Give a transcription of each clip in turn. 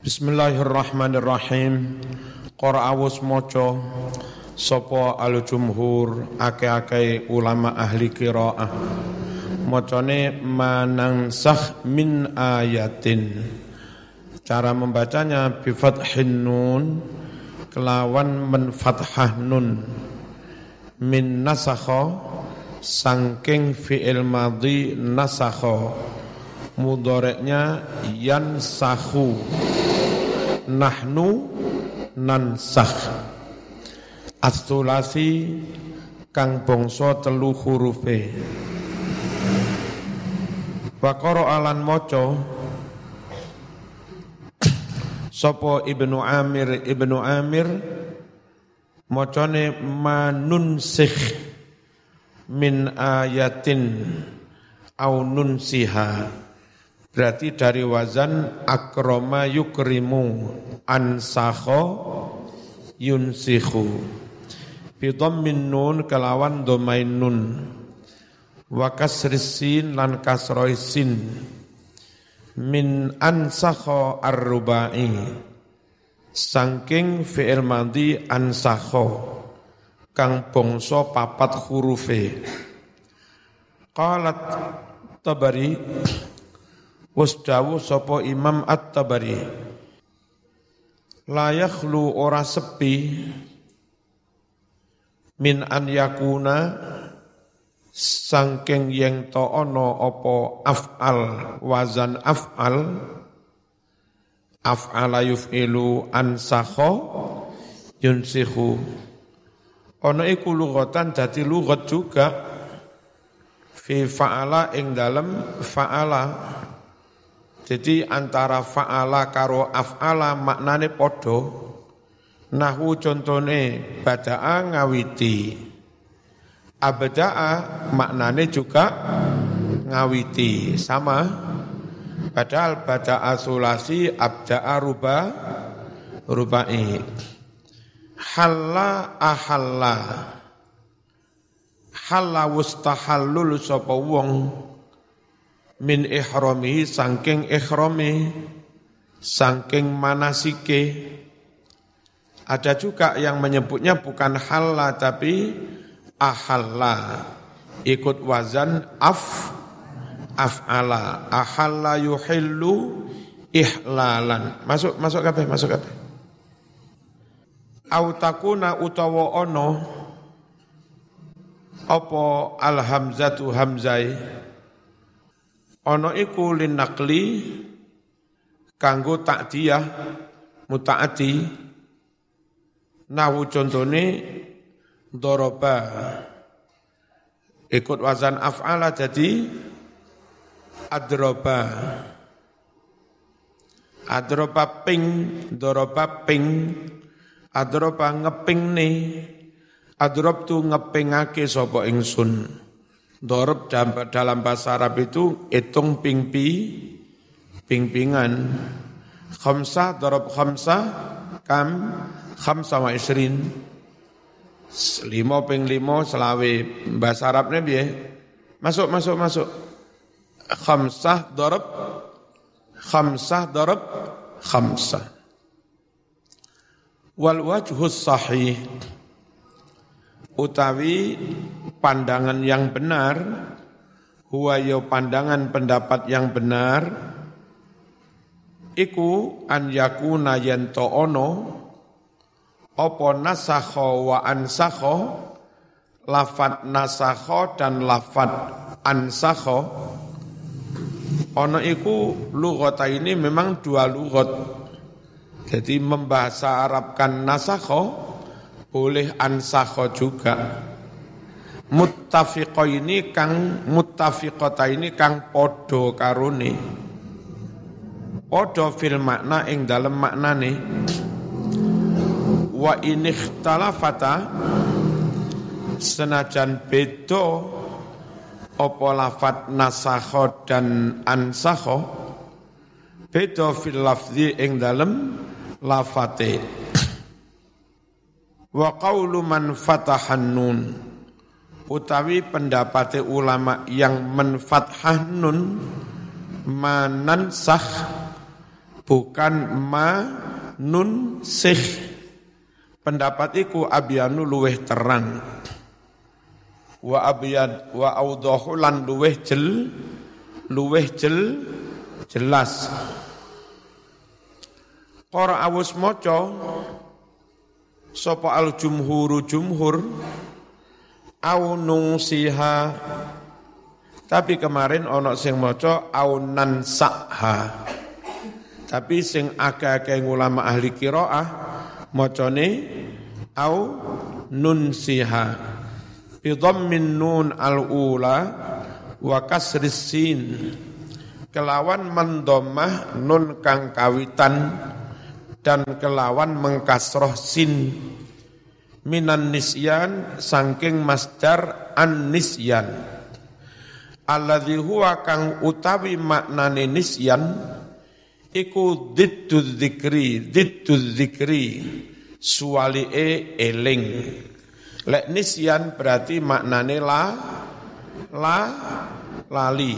Bismillahirrahmanirrahim. Qara'awus maca sapa al-jumhur akeh-akeh ulama ahli qiraah. Macane manansakh min ayatin. Cara membacanya bi fathin nun kelawan men fathah nun. Min nasakha sangking fi'il madhi nasakha. Mudhari'nya yansakhu. Nahnu nansakh. As-sulasi kang bangsa telu hurufe. Wa qara'a lan maca sapa Ibnu Amir macane manunsikh min ayatin au nunsiha. Berarti dari wazan akrama yukrimu ansakho yunsikhu bi dhammin nun kelawan domain nun wa kasris sin lan kasroi sin min ansakho ar-rubai saking fi'il madhi ansakho kang bangsa papat hurufe. Qalat Tabari wasdawu sapa Imam At-Tabari la yakhlu ora sepi min an yakuna sangking yang to ana apa af'al wazan af'ala yuf'ilu ansakha yunsikhu ana iku lughatan dadi lughat juga fi fa'ala ing dalem fa'ala. Jadi antara fa'ala karo af'ala maknane padha. Nahwu contone bada'a ngawiti. Abda'a maknane juga ngawiti, sama. Padahal bada'a sulasi, abda'a rubai. Halla ahalla. Halla wustahallul sapa wong min ihramihi sangking ihrami sangking manasike. Ada juga yang menyebutnya bukan halla tapi ahalla, ikut wazan af'ala. Ahalla yuhillu ihlalan. Masuk kabeh. Au takuna utawa ono apa al-hamzatu hamzai ana iku linaqli kanggo ta'diyah mutaati. Nahwu contone daraba ikut wazan af'ala jadi adraba ping daraba ping adraba ngepingne adrab tu ngepingake sapa ingsun. Dorob dalam bahasa Arab itu hitung ping-pingan. Khamsah dorob khamsah kam khamsah wa isrin. 5 ping 5 selawe. Bahasa Arabnya piye? Masuk. Khamsah dorob khamsah. Wal wajhus sahih utawi pandangan yang benar, huwa ya pandangan pendapat yang benar, iku an yakuna yanto ono, opo nasakho wa ansakho, lafad nasakho dan lafad ansakho, ono iku lughata ini memang dua lughat. Jadi membahasa Arabkan nasakho, boleh ansakho juga. Muttafiqata ini kang podo karone. Podo fil makna ing dalem maknane. Wa in ikhtalafata senajan beda apa lafat nasakho dan ansakho beda fil lafzi ing dalem lafate. Wa qawlu man fatahan nun utawi pendapate ulama yang menfathah nun manansakh bukan nun sikh. Pendapat iku abyanu luweh terang. Wa abyad wa awdahu lan luweh jelas. Qara awus maca sapa al jumhur au nungsiha, tapi kemarin ana sing maca au nansakha. Tapi sing akeh-akeh ulama ahli qiraah macane au nunsiha bi dhammin nun al-ula wa kasris sin, kelawan mendomah nun kang kawitan dan kelawan mengkasroh sin, minan nisyan saking masdar an-nisyan, alladzi huwa kang utawi maknane nisyan iku diddu dzikri suwali'e eling. Lek nisyan berarti maknane lali.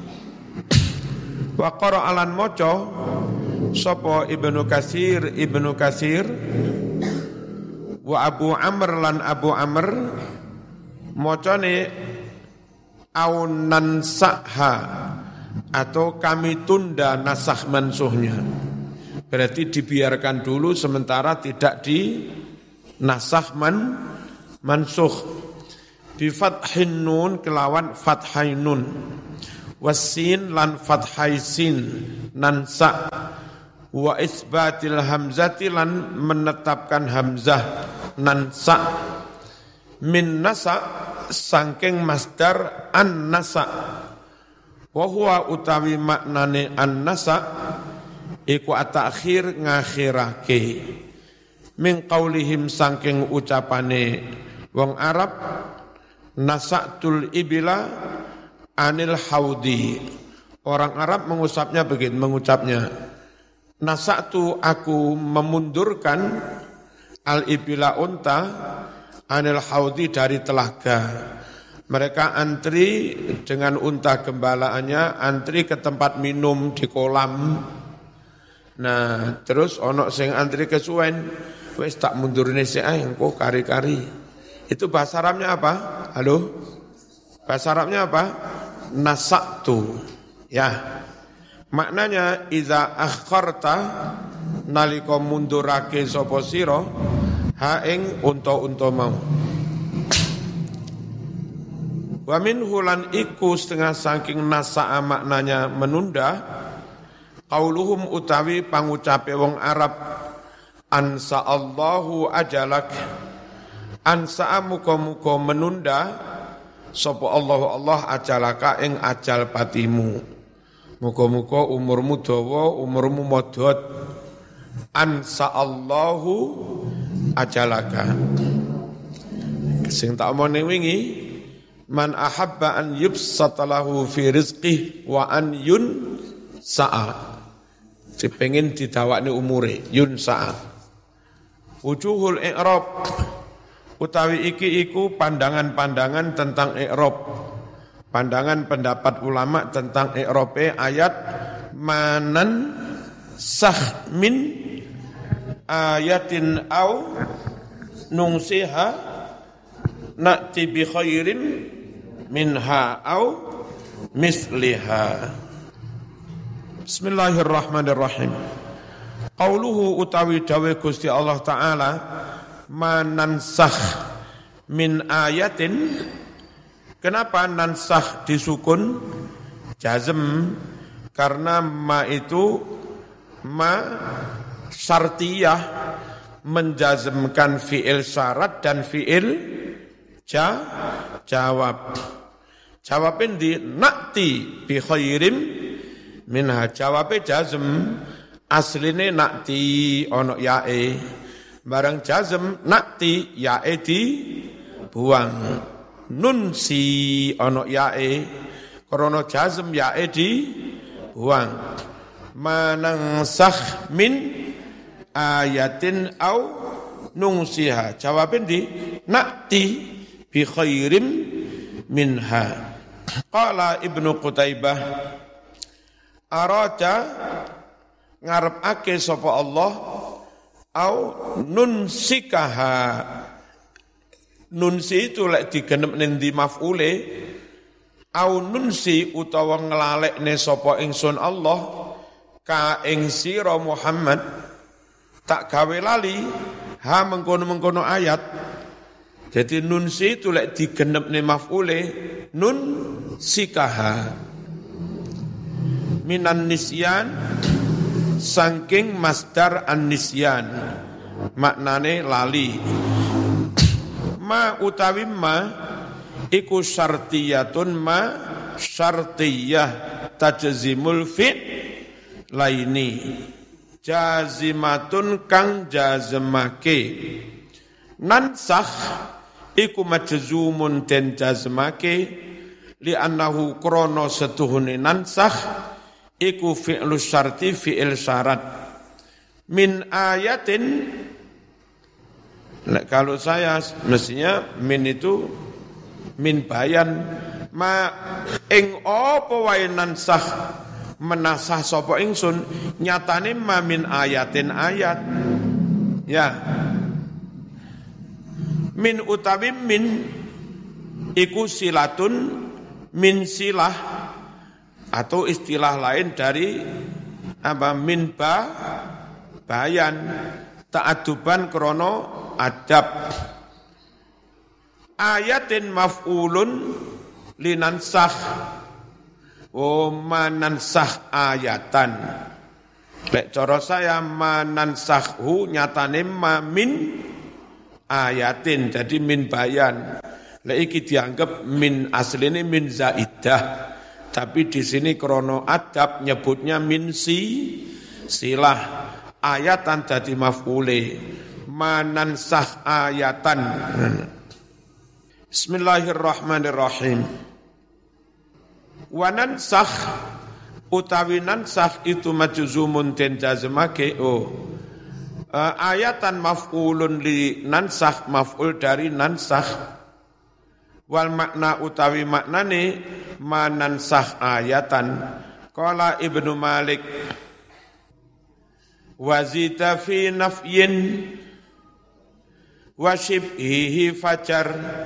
Wa qara alan maca sapa Ibnu Katsir wa Abu Amr lan Abu Amr macane au nansakha atau kami tunda nasakh mansuhnya. Berarti dibiarkan dulu sementara tidak di nasakh mansuh. Bi fathin nun kelawan fathai nun. Wasin lan fathai sin nansa. Wa isbatil hamzati lan menetapkan hamzah nansa. Min nasa sangking masdar an nasa. Wa huwa utawi maknane an-nasa iku at-ta'khir ngakhirake min qaulihim saking ucapane wong Arab nasatul ibila anil haudi. Orang Arab mengucapnya nasatu aku memundurkan al ibila unta anil haudi dari telaga. Mereka antri dengan unta gembalaannya, antri ke tempat minum di kolam. Nah, terus ono sing antri kesuwen, wis tak mundurne sik ae engko kari-kari. Itu bahasa Arabnya apa? Halo? Bahasa Arabnya apa? Nasaktu. Ya. Maknanya idza akharta nalika mundurake sapa sira ha ing unta-unta mau. Wa min hulan iku setengah saking nasa'a maknanya menunda, qauluhum utawi pangucape wong Arab ansa Allahu ajalak, ansa muka-muka menunda sapa Allah ajalaka ing ajal patimu, muka-muka umurmu dawa umurmu modot, ansa Allahu ajalaka. Sing tak omone wingi man ahabba an yubsata lahu fi rizqih wa an yunsa'a. Dipengin didawakne umure, yunsa'a. Wujuhul i'rab utawi iki iku pandangan-pandangan tentang i'rab. Pandangan pendapat ulama tentang i'rabe ayat manan sah min ayatin au nungsiha na'ti bi khairin minha au misliha. Bismillahirrahmanirrahim. Qauluhu utawi dawe Gusti Allah Ta'ala manansakh min ayatin. Kenapa nansakh disukun jazm? Karena ma itu ma syartiyah menjazmkan fi'il syarat dan fi'il jawab. Jawabin di nakti bi khairim minha. Jawabnya jazm, asline nakti ono yae. Barang jazm nakti yae di buang. Nun si ono yae. Krono jazm yae di buang. Manansakh min ayatin au nungsiha. Jawabin di nakti bi khairim minha. Qala Ibnu Qutaibah arada ngarepake sapa Allah au nunsikaha. Nunsi itu lek digenep nendi maf'ule au nunsi utawa nglalekne sapa ingsun Allah ka ing sira Muhammad tak gawe lali ha mengkono-mengkono ayat. Jadi nunsi itu lek digenepne maf'ule nun sikaha minan nisyan saking masdar an-nisyan maknane lali. Ma utawi ma iku syartiyatun ma syartiyah tajzimul fi' laini jazimatun kang jazmake nansakh iku majzumun den jazmake li annahu krono setuhune nansakh iku fi'lu syarti fi'il syarat min ayatin. Nah, kalau saya mestinya min itu min bayan ma ing apa wae nansakh menasah sapa ingsun nyatane ma min ayatin ayat ya min utawi min iku silatun min silah atau istilah lain dari apa min bayan ta'adduban krono adab. Ayatin maf'ulun linansakh manansakh ayatan. Lek cara saya manansakhu nyatane ma min ayatin jadi min bayan. Lek iki dianggap min asline min zaidah. Tapi di sini krono adab nyebutnya min silah. Ayatan dadi maf'ule manansakh ayatan. Bismillahirrahmanirrahim. Wa nansakh utawi nansakh itu majzumun den jazmake ayatan maf'ulun li nansakh maf'ul dari nansakh wal makna utawi maknane manansakh ayatan. Qala Ibnu Malik wazita fi nafyin wa shibhihi fajar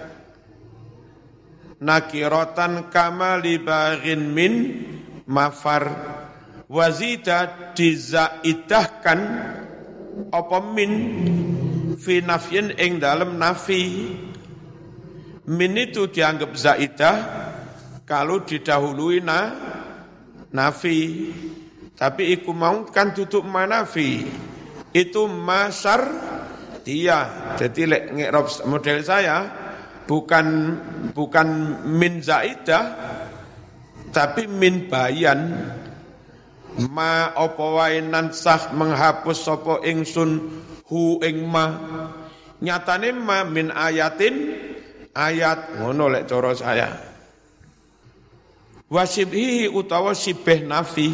nakiratan kama libaghin min mafar. Wazita dizaidahkan apa min fi nafyin ing dalem nafi. Min itu dianggap zaidah kalau didahului nafi. Tapi iku mau kan tutup manafi. Itu masar dia. Jadi lek ngi'rab model saya bukan min zaidah tapi min bayan. Ma apa wae nansakh menghapus sapa ingsun hu ing ma. Nyatane ma min ayatin ayat ngono lek cara saya. Wasibhi utawa sibeh nafi.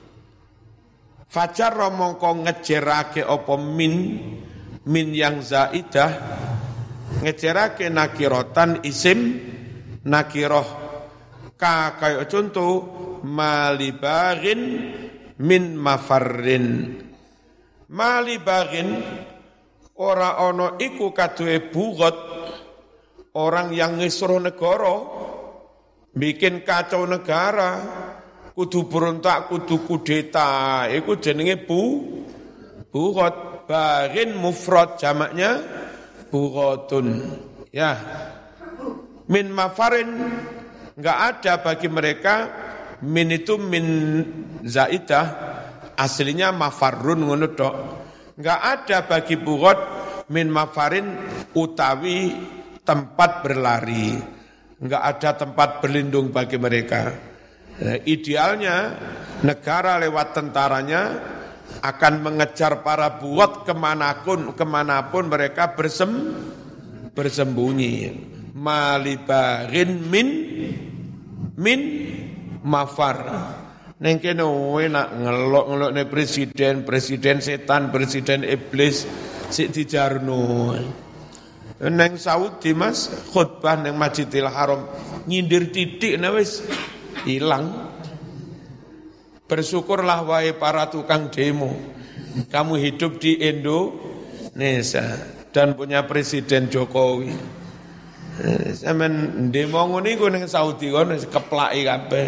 Fajar mongko ngejerake apa min yang zaidah ngejerake nakirotan isim nakiroh ka kaya contoh malibaghin min mafarrin. Malibaghin ora ana iku kaduwe bugot orang yang ngisruh negara bikin kacau negara kudu berontak, kudu kudeta, iku jenenge bughot. Baghin mufrad jamaknya bughatun. Ya. Min mafarin enggak ada bagi mereka min itu min zaidah aslinya mafarrun ngono tok. Enggak ada bagi bughat min mafarin utawi tempat berlari. Enggak ada tempat berlindung bagi mereka. Idealnya negara lewat tentaranya akan mengejar para buat kemanapun mereka bersembunyi. Malibaghin min mafar. Neng kene nak ngelok-ngelokne presiden setan, presiden iblis sik dijarno. Neng Saudi Mas khutbah neng Masjidil Haram nyindir titik wis hilang. Bersyukurlah wahai para tukang demo. Kamu hidup di Indonesia dan punya Presiden Jokowi. Sampeyan demo ngono iku ning Saudi kono keplaki kabeh.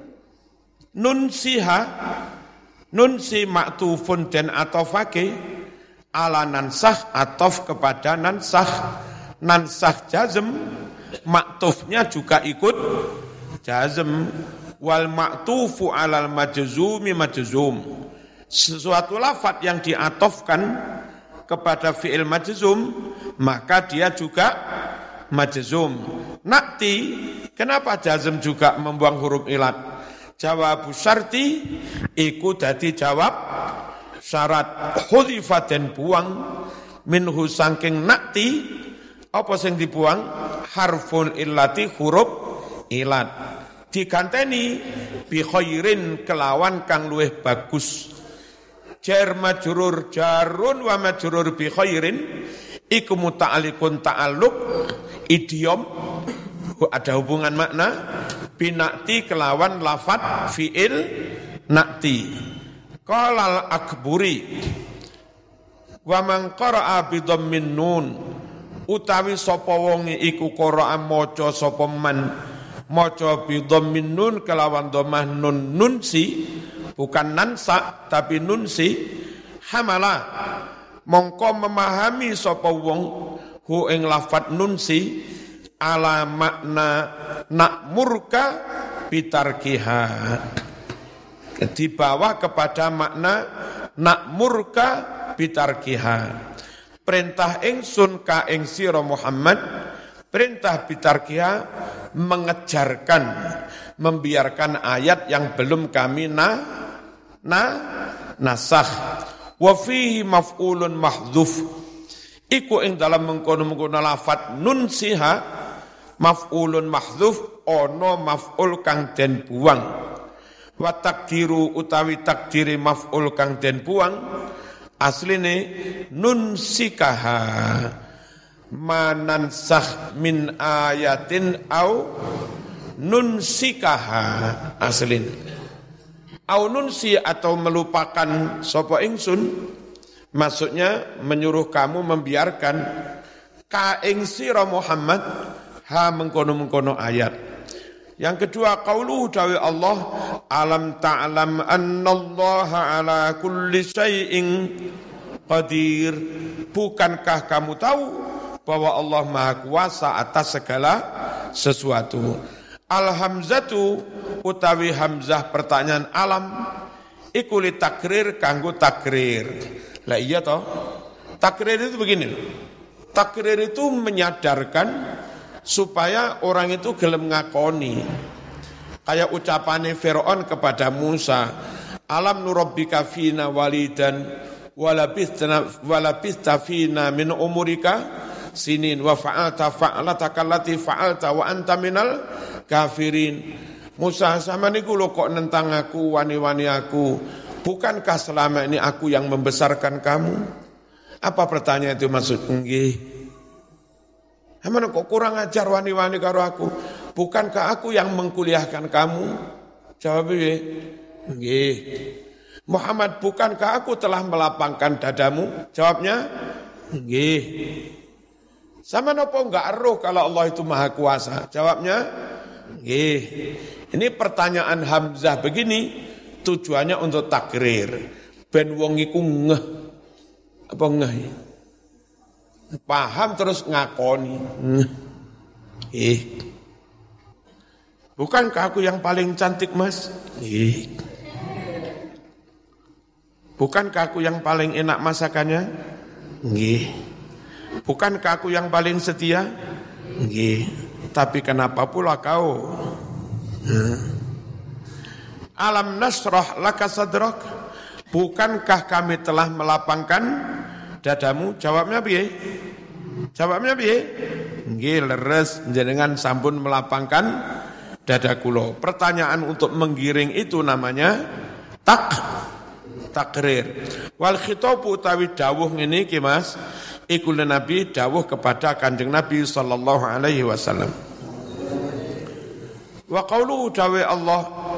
Nunsi maktufun dan atofake ala nansah atof kepada nansah jazm, maktufnya juga ikut jazm. Wal maktufu alal majzumi majzum, sesuatu lafaz yang diatofkan kepada fi'il majzum maka dia juga majzum. Nakti, kenapa jazm juga membuang huruf ilat? Jawab syarti iku dadi jawab syarat. Hudifat dan buang minhu sangking nakti, apa sing dibuang? Harful illati, huruf ilat. Diganteni bi khairin kelawan kang luweh bagus. Jar majrur jarun wa majrur bi khairin iku muta'alliqun ta'alluq idiom, ada hubungan makna binakti kelawan lafat fi'il nakti. Qalal akburi wa man qara'a bi dhammin nun, utawi sapa wong iku qara'a maca sapa man maca bi dhammin nun kelawan dhammah nun, nunsi bukan nansa tapi nunsi, hamala mongko memahami sapa wong hu ing lafat nunsi ala makna nakmurka bitarkiha, dibawa kepada makna nakmurka bitarkiha, perintah ingsun ka ing sira Muhammad, perintah bitarkiha mengejarkan, membiarkan ayat yang belum kami nasakh. Wa fihi maf'ulun mahdhuf, iku ing dalam mengkono-mengkono lafat nunsiha maf'ulun mahdhuf, ono maf'ul kang den buang. Wa takdiru utawi takdiri maf'ul kang den buang asline nunsikaha manansakh min ayatin au nunsikaha aslin. Au nunsi atau melupakan sapa ingsun, maksudnya menyuruh kamu membiarkan ka ing sira Muhammad ha mengkono-mengkono ayat. Yang kedua, qauluhu dawi Allah, alam ta'lam annallaha ala kulli syai'in qadir, bukankah kamu tahu bahwa Allah Maha Kuasa atas segala sesuatu. Al-hamzatu utawi hamzah pertanyaan alam iku li takrir kanggo takrir. Lah iya toh? Takrir itu begini. Takrir itu menyadarkan supaya orang itu gelem ngakoni. Kayak ucapane Firaun kepada Musa, alam nurabbika fina walidan walabithta fina min umurika sinin wa fa'alta fa'alataka allati fa'alta wa anta minal kafirin. Musa, sama niku lho kok nentang aku, wani-wani aku. Bukankah selama ini aku yang membesarkan kamu? Apa pertanyaan itu maksud? Nggih. Mana kok kurang ajar wani-wani karo aku? Bukankah aku yang mengkuliahkan kamu? Jawabnya, nggih. Muhammad, bukankah aku telah melapangkan dadamu? Jawabnya, nggih. Sama nopo enggak eruh kalau Allah itu Maha Kuasa? Jawabnya, nggih. Ini pertanyaan hamzah begini tujuannya untuk takrir. Ben wong iku ngeh. Apa ngeh ya? Paham terus ngakoni. Ngeh. Bukankah aku yang paling cantik, Mas? Nggih. Bukankah aku yang paling enak masakannya? Nggih. Bukankah aku yang paling setia? Nggih. Tapi kenapa pula kau? Alam nasrah laka sadrak, bukankah kami telah melapangkan dadamu? Jawabnya piye? Jawabnya piye? Nggih, leres jenengan sampun melapangkan dada kula. Pertanyaan untuk menggiring itu namanya takrir. Wal khitabu utawi dawuh ngene iki Mas, iku Nabi dawuh kepada Kanjeng Nabi sallallahu alaihi wasallam. Wa qauluhu dawe Allah,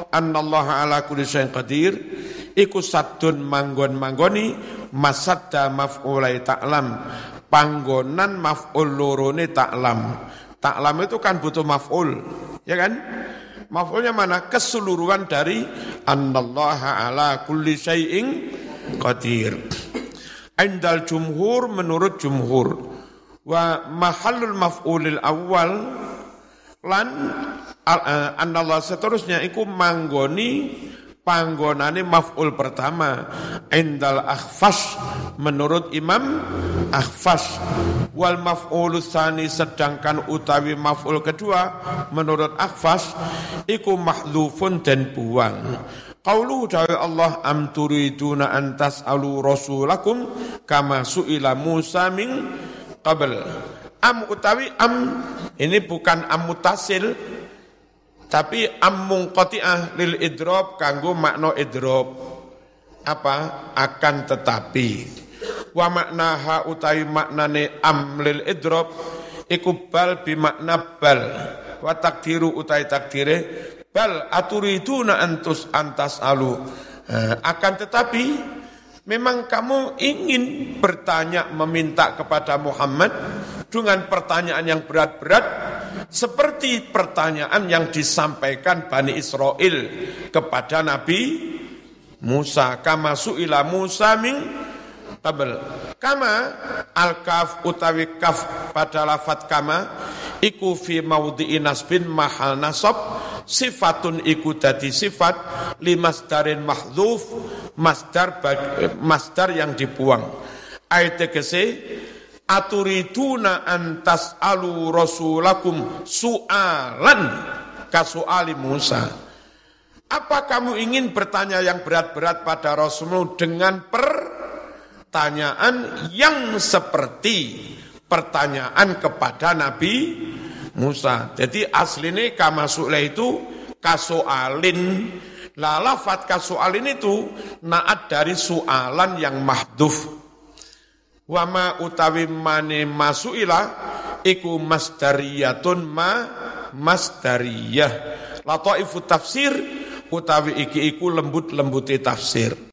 annallaha ala kulli syai'in qadir iku saddun manggon-manggoni masadda maf'ulai ta'lam panggonan maf'ul lorone ta'lam. Ta'lam itu kan butuh maf'ul, ya kan? Maf'ulnya mana? Keseluruhan dari annallaha ala kulli syai'in qadir. Indal jumhur menurut jumhur wa mahallul maf'ulil awal lan anallah seterusnya iku manggoni panggonane maf'ul pertama indal akhfas menurut Imam Akhfas wal maf'ul tsani sedangkan utawi maf'ul kedua menurut Akhfas iku mahdzufun dan buang. Qauluhu ta'ala Allah am turiduna an tas'alu rasulakum kama su'ila Musa min qabl. Am utawi am ini bukan am mutasil tapi am munqati'ah lil idrob kanggo makna idrob apa akan tetapi wa maknaha utawi maknane am lil idrob iku bal bi makna bal wa takdiru utawi takdire bal aturiduna antas alu akan tetapi memang kamu ingin bertanya meminta kepada Muhammad dengan pertanyaan yang berat-berat seperti pertanyaan yang disampaikan Bani Israel kepada Nabi Musa kama su'ila Musa min qabl kama al-kaf utawi kaf pada lafadz kama iku fi maudhi'i nasbin mahal nasab sifatun iku dadi sifat limasdarin mahdzuf masdar yang dibuang ayat tegese aturiduna antas alu rasulakum su'alan kasu'ali Musa. Apa kamu ingin bertanya yang berat-berat pada Rasulmu dengan pertanyaan yang seperti pertanyaan kepada Nabi Musa. Jadi aslinya kama su'la itu kasu'alin. Lah lafadz kasu'alin itu naat dari su'alan yang mahdhuf. Wama utawi mane masu'ilah iku masdariyatun masdariyah. Lataifu tafsir utawi iki iku lembut-lembuti tafsir.